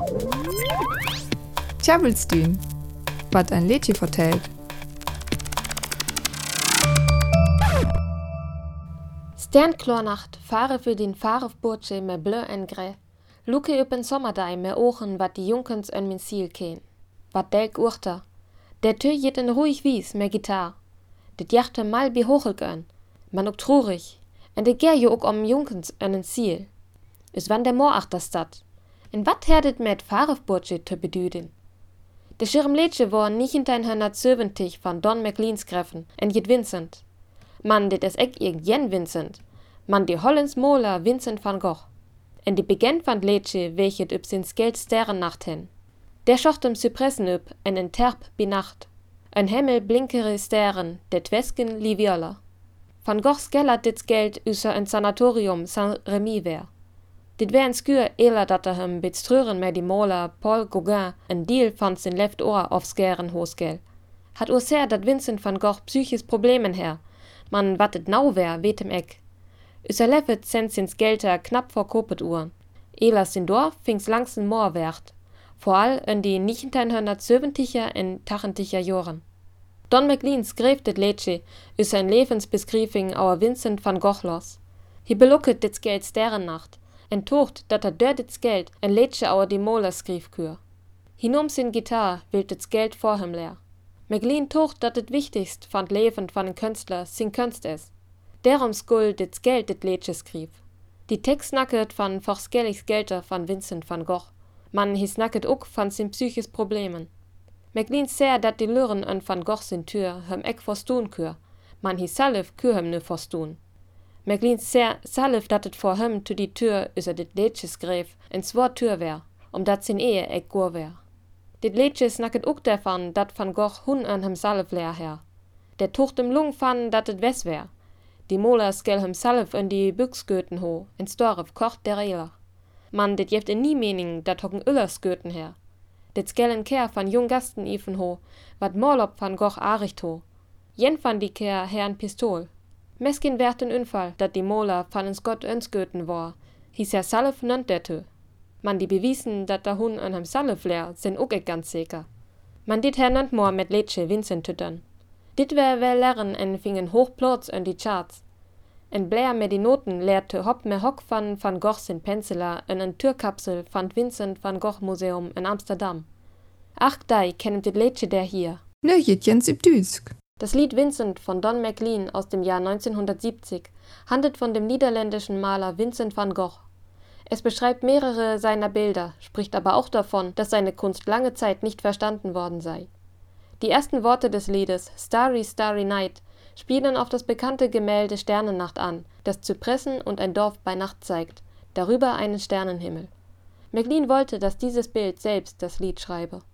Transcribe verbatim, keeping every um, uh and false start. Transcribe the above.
Tjabelstün, wat ein Liedje vertellt. Sternklarnacht fahre für den Fahrerburtsche med blö en grä. Luke upp en sommerdei med ogen wat die Junkens en min ziel ken. Wat delk urter. Der Tür jet en ruhig wies med gitar. Dit jachte mal bi hochelgön. Man ook trurig. En de ger jo ook om Junkens en en ziel. Is wann der Moor achter stad. En wat herdet met Fahrerburtsche te bedüden? De Schirmleetsche war negenhonderdzeventig van Don McLean's Greffen en jet Vincent. Man dit is ek irgendjen Vincent. Man die Hollands Moler Vincent van Gogh. En die begent van Leetsche welchet up sin Geld Sterrennacht hen. Der schocht im Zypressen up en en terp bi Nacht. Ein Himmel blinkere Sterren, der Twesken Liviola. Van Gogh skellert dit Geld üser ein Sanatorium Saint-Remy wär. Dit wär en skuur eler dat er hem bit strøren med die Moler Paul Gauguin en deal van sin left oor aufskeren hosgel. Hat ur ser dat Vincent van Gogh psychisch Problemen her. Man wat et nau wär, weet hem ek. Üser leffet send sins Gelder knapp vor kopet uren. Eler sin Dorf fings langsen Moor wert. Vooral in die negenhonderdzeventiger en tachentiger Joren. Don McLean skreef dit Liedje uit zijn levensbeschrijving over Vincent van Gogh los. Hij beloeket dit Geld Sterrennacht en tocht dat er door dit Geld een Liedje over die Moler schreef kuur. Hij nam zijn gitaar, wil dit Geld voor hem leer. McLean tocht dat het wichtigst van het leven van een kunstler zijn kunst is. Daarom skul dit Geld dit Liedje schreef. Die tekst snakket van verschillende Gelder van Vincent van Gogh. Man hij snakket ook van zijn psychisch problemen. McLean zei dat die luren en Van Gogh zijn tuur hem ek forstoen keur, man hij zelf keur hem ne forstoen. McLean zei zelf dat het voor hem to die tuur user dit liedje schreef en zwaar tuur wär, omdat zijn ehe ek goor wär. Dit liedje snakket ook daarvan dat Van Gogh hun en hemzelf leer her. Der tocht hem lung van dat het wes wär. Die Moler skel hemzelf in die buksgoten ho en storf kort der eler. Man, dit jeft in nie mening dat hocken Ullersgoten her. Dit skellen keer van jong gasten even ho, wat Morlop van Gogh aricht ho. Jen van die keer her een pistool. Meskin werd een unfall, dat die Moler van een Scott önsgoten war, hieß er salf nont dertö. Man die bewiesen, dat der hun an hem salf leer, sind ook ek ganz zeker. Man dit her nont moor met Liedje Vincent tüttern. Dit wär wel lerren en fingen hoch plots in die charts. En Blair met die Noten leerte hop me hock van Van Gogh sin Penseler in een Türkapsel van Vincent van Gogh Museum in Amsterdam. Ach dei kennet dit Liedje der hier. Ne jetjens üb Düsk. Das Lied Vincent von Don McLean aus dem Jahr neunzehnhundertsiebzig handelt von dem niederländischen Maler Vincent van Gogh. Es beschreibt mehrere seiner Bilder, spricht aber auch davon, dass seine Kunst lange Zeit nicht verstanden worden sei. Die ersten Worte des Liedes Starry, Starry Night spielen auf das bekannte Gemälde Sternennacht an, das Zypressen und ein Dorf bei Nacht zeigt, darüber einen Sternenhimmel. McLean wollte, dass dieses Bild selbst das Lied schreibe.